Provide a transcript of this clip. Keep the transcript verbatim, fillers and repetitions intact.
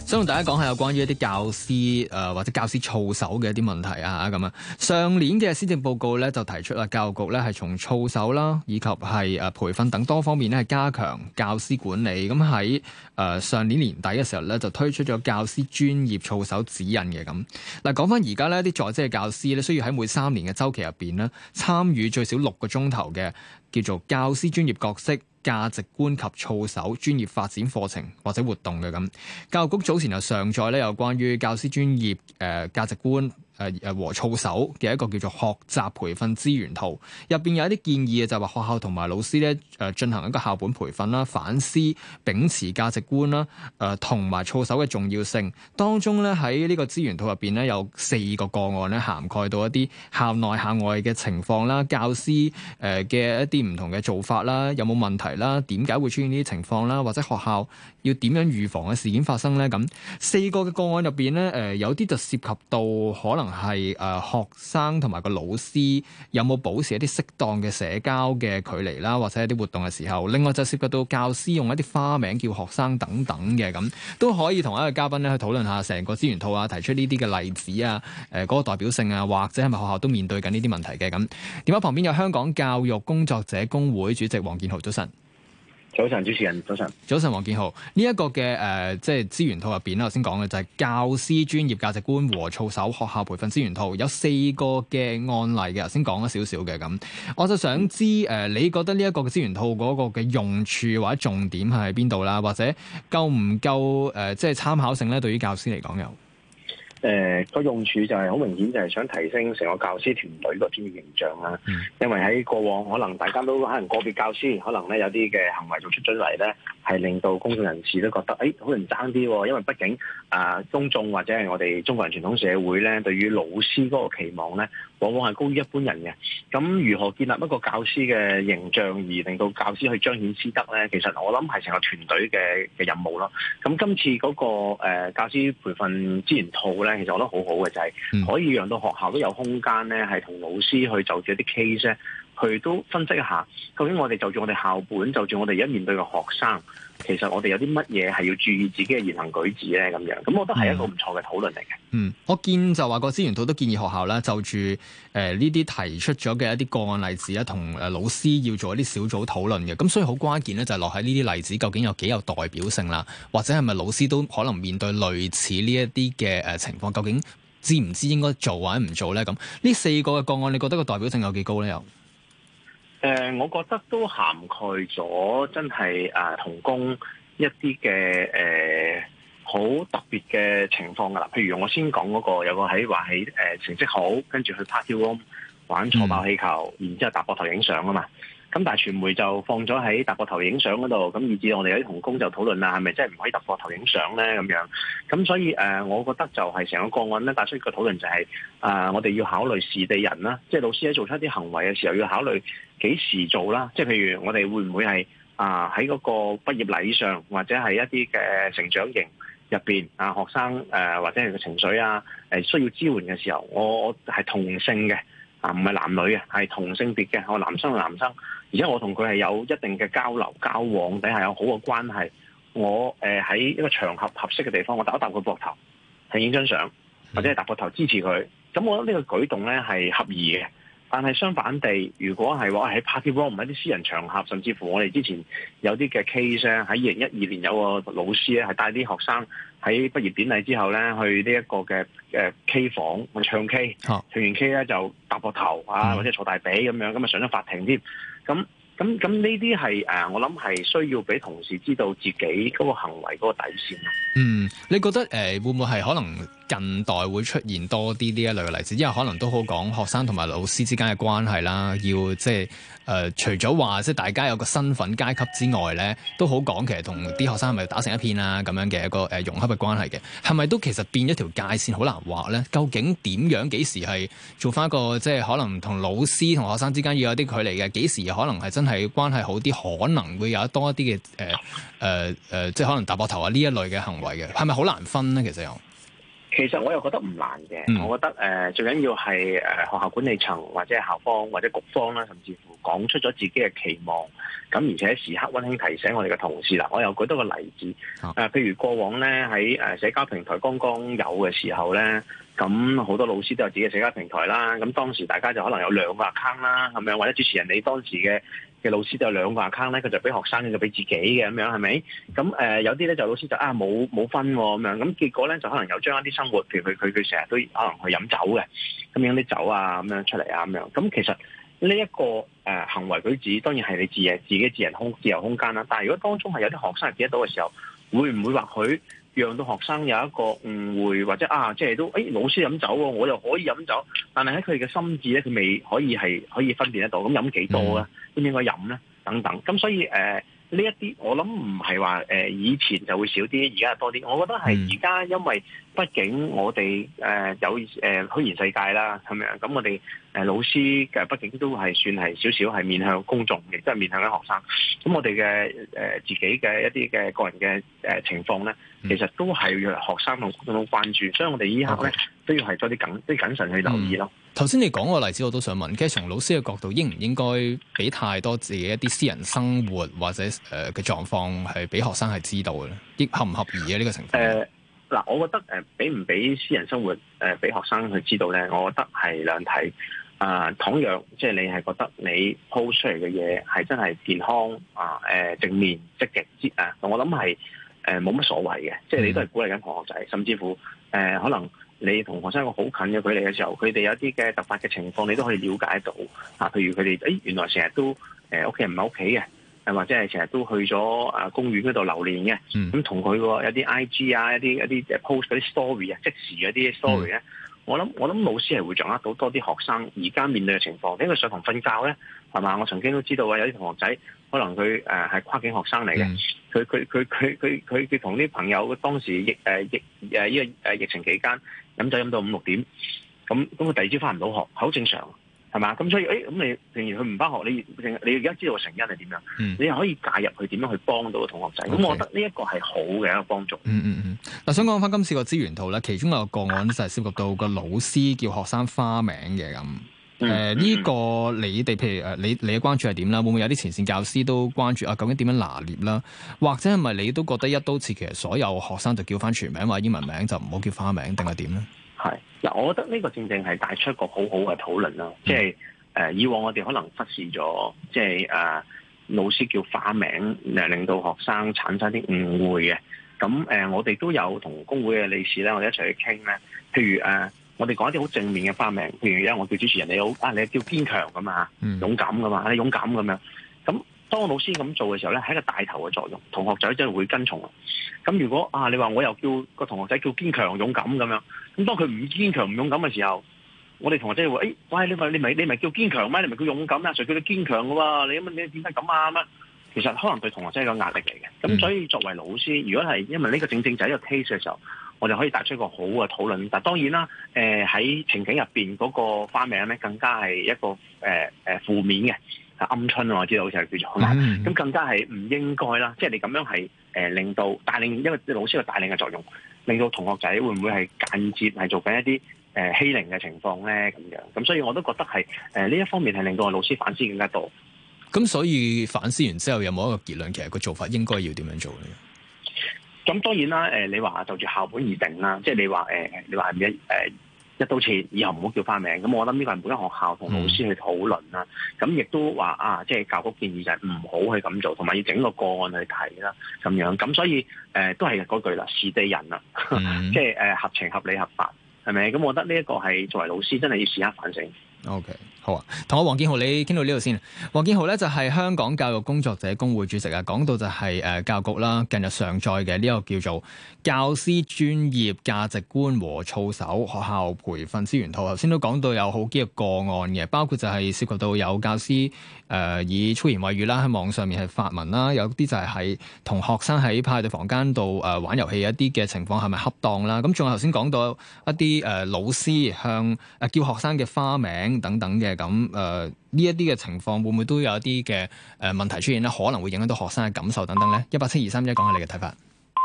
想同大家講下有關於一啲教師誒、呃、或者教師操守嘅一啲問題啊咁啊。上年嘅施政報告咧就提出啦，教育局咧係從操守啦以及係誒培訓等多方面咧係加強教師管理。咁喺誒上年年底嘅時候咧就推出咗教師專業操守指引嘅咁。嗱，講翻而家呢啲在職嘅教師咧需要喺每三年嘅週期入邊咧參與最少六個鐘頭嘅叫做教師專業角色、價值觀及操守專業發展課程或者活動嘅咁。教育局早前又上載咧有關於教師專業誒、呃、價值觀誒誒和操守嘅一個叫做學習培訓資源圖，入邊有一啲建議嘅就係話學校同埋老師咧誒進行一個校本培訓啦、反思、秉持價值觀啦誒同埋操守嘅重要性。當中咧喺呢個資源圖入邊咧有四個個案咧涵蓋到一啲校內校外嘅情況啦、教師誒嘅一啲唔同嘅做法啦、有冇問題啦、點解會出現呢啲情況啦，或者學校要點樣預防嘅事件發生咧？咁四個嘅個案入邊咧誒有啲就涉及到可能係誒、呃、學生同埋個老師有冇保持一啲適當嘅社交嘅距離啦，或者一啲活動嘅時候。另外就涉及到教師用一啲花名叫學生等等嘅咁，都可以同一個嘉賓咧去討論下成個資源套啊，提出呢啲嘅例子啊，誒、呃、嗰、那個代表性啊，或者係咪學校都面對緊呢啲問題嘅咁。電話旁邊有香港教育工作者工會主席黃建豪，早晨。 早晨，主持人，早晨。 早晨，黃建豪。呢、這、一個嘅誒、呃，即係資源套入邊咧，頭先講嘅就係教師專業價值觀和操守學校培訓資源套，有四個嘅案例嘅，頭先講咗少少嘅咁。我就想知誒、呃，你覺得呢一個嘅資源套嗰個嘅用處或者重點係喺邊度啦？或者夠唔夠誒、呃，即係參考性咧？對於教師嚟講有？ 誒個、呃、用處就係好明顯，就係想提升成個教師團隊個專業形象啦。嗯、因為喺過往可能大家都可能個別教師可能咧有啲嘅行為做出咗嚟咧，係令到公眾人士都覺得誒好難爭啲喎。因為畢竟啊、呃，公眾或者係我哋中國人傳統社會咧，對於老師嗰個期望咧，往往係高於一般人嘅。咁如何建立一個教師嘅形象，而令到教師去彰顯師德咧？其實我諗係成個團隊嘅嘅任務咯。咁今次嗰、那個、呃、教師培訓資源套咧，其實我覺得好好嘅就係、是、可以讓到學校都有空間咧，係同老師去就住一啲 case 咧，去都分析一下，究竟我哋就住我哋校本，就住我哋而家面對嘅學生，其實我哋有啲乜嘢係要注意自己嘅言行舉止咧？咁樣，咁我覺得係一個唔錯嘅討論嚟嘅。 嗯，我見就話個資源套都建議學校咧，就住誒呢啲提出咗嘅一啲個案例子咧，同誒老師要做一啲小組討論嘅。咁所以好關鍵咧，就係落喺呢啲例子究竟有幾有代表性啦，或者係咪老師都可能面對類似呢一啲嘅誒情況，究竟知唔知應該做或者唔做咧？咁呢四個嘅個案，你覺得個代表性有幾高咧？又？ 誒、呃，我覺得都涵蓋咗真係誒同工一啲嘅誒好特別嘅情況㗎啦。譬如我先講嗰、那個有個喺話喺誒成績好，跟住去 party room 玩坐爆氣球，嗯、然之後搭膊頭影相啊嘛。咁但係傳媒就放咗喺搭膊頭影相嗰度，咁以至我哋有啲同工就討論啦，係咪真係唔可以搭膊頭影相咧？咁樣，咁所以誒、呃，我覺得就係成個個案咧帶出一個討論就係、是、啊、呃，我哋要考慮時地人啦，即係老師喺做出一啲行為嘅時候要考慮幾時做啦。即係譬如我哋會唔會係啊喺嗰個畢業禮上，或者係一啲嘅成長營入邊啊學生誒、呃、或者係個情緒啊誒、呃、需要支援嘅時候，我我係同性嘅啊，唔係男女嘅，係同性別嘅，我男生係男生。而且我同佢係有一定嘅交流交往底下有好嘅關係，我誒喺、呃、一個場合合適嘅地方，我搭一搭佢膊頭，係影張相，或者係搭膊頭支持佢。咁我覺得呢個舉動咧係合宜嘅。但係相反地，如果係話喺 party room 唔係啲私人場合，甚至乎我哋之前有啲嘅 case 咧，喺二零一二年有個老師咧係帶啲學生喺畢業典禮之後咧去呢一個嘅誒 K 房去唱 K，唱完 K 咧就搭膊頭啊，或者坐大髀咁樣，咁啊上咗法庭添。咁咁咁呢啲係誒，我諗係需要俾同事知道自己嗰個行為嗰個底線咯。 嗯，你覺得誒、呃、會唔會係可能近代會出現多啲呢一類嘅例子？因為可能都好講學生同埋老師之間嘅關係啦，要即係誒除咗話即係大家有個身份階級之外咧，都好講其實同啲學生係咪打成一片啊咁樣嘅一個誒、呃、融洽嘅關係嘅，係咪都其實變咗條界線好難畫咧？究竟點樣幾時係做翻一個即係可能同老師同學生之間要有啲距離嘅？幾時可能係真係關係好啲，可能會有多一啲嘅誒誒誒，即係可能搭膊頭啊呢一類嘅行為嘅，係咪好難分咧？其實又？ 其實我又覺得唔難嘅， 嗯、 我覺得誒、呃、最緊要係誒、呃、學校管理層或者校方或者局方啦，甚至乎講出咗自己嘅期望，咁而且時刻溫馨提醒我哋嘅同事啦。我又舉多個例子，誒、呃、譬如過往咧喺誒社交平台剛剛有嘅時候咧，咁好多老師都有自己嘅社交平台啦，咁當時大家就可能有兩個 account 啦，係咪？或者主持人你當時嘅嘅老師都有兩個 account 咧，佢就俾學生，就俾自己嘅咁樣，係咪？咁誒、呃、有啲咧就老師就啊冇冇分喎咁樣，咁結果咧就可能有將一啲生活，譬如佢佢佢成日都可能去飲酒嘅，咁樣啲酒啊咁樣出嚟啊咁樣，咁其實呢、這、一個誒、呃、行為舉止，當然係你自嘅自己自人空自由空間啦。但係如果當中係有啲學生係見得到嘅時候，會唔會或許讓到學生有一個誤會，或者啊即係都誒、哎、老師飲酒喎，我又可以飲酒，但係喺佢嘅心智咧，佢未可以係可以分辨得到，咁飲幾多咧？應唔應該飲咧？等等，咁所以誒。呃呢一啲我諗唔係話誒以前就會少啲，而家係多啲。我覺得係而家因為畢竟我哋誒、呃、有誒、呃、虛擬世界啦，係咪啊？咁我哋誒、呃、老師嘅畢竟都係算係少少係面向公眾，亦都係面向緊學生。咁我哋嘅誒自己嘅一啲嘅個人嘅誒、呃、情況咧，其實都係要學生同公眾關注，所以我哋依刻咧都要係多啲謹啲謹慎去留意咯。 頭先你講個例子，我都想問，其實從老師嘅角度，應唔應該俾太多自己一啲私人生活或者誒嘅狀況係俾學生係知道嘅咧？亦合唔合宜啊？呢、這個情況？誒嗱、呃，我覺得誒俾唔俾私人生活誒俾、呃、學生去知道咧，我覺得係兩睇。啊、呃，倘若即係你係覺得你 post 出嚟嘅嘢係真係健康啊、誒、呃、正面積極之啊，我諗係誒冇乜所謂嘅，即係你都係鼓勵緊同學仔，甚至乎誒、呃、可能。你同學生一個好近嘅距離嘅時候，佢哋有啲嘅突發嘅情況，你都可以了解到啊。譬如佢哋誒原來成日都誒屋企人唔喺屋企嘅，誒或者係成日都去咗啊公園嗰度流連嘅。咁同佢個有啲 I G 啊，一啲一啲誒 post 嗰啲 story 啊，即時嗰啲 story 咧、嗯，我諗我諗老師係會掌握到多啲學生而家面對嘅情況。因為上堂瞓覺咧，係嘛？我曾經都知道啊，有啲同學仔可能佢誒係跨境學生嚟嘅，佢佢佢佢佢佢佢同啲朋友當時疫誒疫誒呢個誒疫情期間。飲酒飲到五六點，咁咁佢第二朝翻唔到學，好正常，係嘛？咁所以，誒咁你平時佢唔翻學，你你而家知道個成因係點樣？嗯、你又可以介入去點樣去幫到個同學仔？咁 Okay. 我覺得呢一個係好嘅一個幫助。 嗯嗯嗯。嗱、嗯，想講翻今次個資源圖咧，其中有個個案就係涉及到個老師叫學生花名嘅咁。誒、嗯，呢、呃這個你哋譬如誒，你你嘅關注係點啦？會唔會有啲前線教師都關注啊？究竟點樣拿捏啦？或者係咪你都覺得一刀切，其實所有學生就叫翻全名或者英文名，就唔好叫花名，定係點咧？ 係嗱，我覺得呢個正正係帶出一個好好嘅討論啦。即係誒，以往我哋可能忽視咗，即係誒老師叫花名，誒令到學生產生啲誤會嘅。咁誒、呃，我哋都有同工會嘅理事咧，我哋一齊去傾咧。譬如誒。呃我哋講一啲好正面嘅花名，譬如而家我叫主持人，你好啊，你叫堅強噶嘛，勇敢噶嘛，你勇敢咁樣。咁當老師咁做嘅時候咧，係一個帶頭嘅作用，同學仔真係會跟從。咁如果啊，你話我又叫個同學仔叫堅強勇敢咁樣，咁當佢唔堅強唔勇敢嘅時候，我哋同學仔會話：誒、哎，喂，你咪你咪你咪叫堅強咩？你咪叫勇敢啊？誰叫你堅強嘅喎？你咁你點解咁啊？乜？其實可能對同學仔係個壓力嚟嘅。咁所以作為老師，如果係因為呢個正正就係一個 case 嘅時候，我哋可以帶出一個好嘅討論，但當然啦，誒、呃、喺情景入邊嗰個花名咧，更加係一個誒誒、呃、負面嘅，係鵪鶉啊，我知道好似係叫做，咁、嗯、更加係唔應該啦。即係你咁樣係誒、呃、令到帶領，因為老師嘅帶領嘅作用，令到同學仔會唔會係間接係做緊一啲誒、呃、欺凌嘅情況咧？咁樣，咁所以我都覺得係誒呢一方面係令到我老師反思更加多。 咁所以反思完之後，有冇一個結論？其實個做法應該要點樣做咧？ 咁當然啦，誒、呃、你話就住校本而定啦，即係你話誒、呃、你話係咪一誒一刀切，以後唔好叫花名。咁我諗呢個係每間學校同老師去討論啦。咁亦、嗯、都話啊，即係教局建議就係唔好去咁做，同埋要整個個案去睇啦，咁樣。咁所以誒、呃、都係嗰句啦，是地人啦，嗯、即係誒、呃、合情合理合法，係咪？咁我覺得呢一個係作為老師真係要時刻反省。 O.K. 好啊，同我黃建豪你傾到呢度先。黃建豪咧就係香港教育工作者工會主席啊，講到就係誒教育局啦，近日上載嘅呢個叫做教師專業價值觀和操守學校培訓資源圖。頭先都講到有好幾個個案嘅，包括就係涉及到有教師誒、呃、以粗言穢語啦喺網上面係發文啦，有啲就係喺同學生喺派對房間度誒玩遊戲一啲嘅情況係咪恰當啦？咁仲有頭先講到一啲誒、呃、老師向誒、呃、叫學生嘅花名等等嘅。咁誒呢一啲嘅情況會唔會都有一啲嘅誒問題出現咧？可能會影響到學生嘅感受等等咧。一八七二三一講下你嘅睇法。